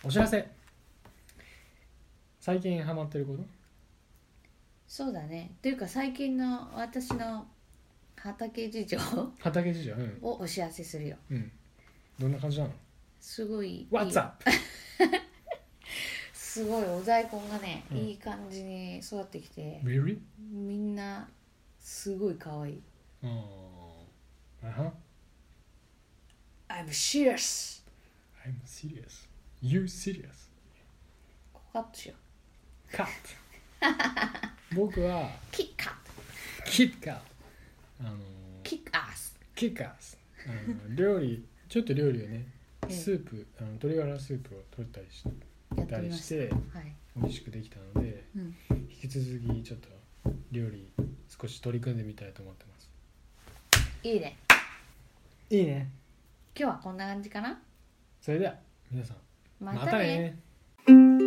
お知らせ。最近ハマってること？ そうだね。というか最近の私の畑事情畑事情、 をお知らせするよ。 どんな感じなの？ すごいいい What's up？ すごいお大根がね、いい感じに育ってきて、 Really？ みんなすごい可愛い。I'm serious. I'm serious. You serious? ここカットしよう。 カット。僕はキッカット。 キッカー。 キックアス。 キッカース。ちょっと料理をね、スープ、鶏ガラスープを取ったりしてやってみました。はい。 美味しくできたので、引き続きちょっと料理少し取り組んでみたいと思ってます。 いいね。 いいね。 今日はこんな感じかな。 それでは皆さんまたね。 またね。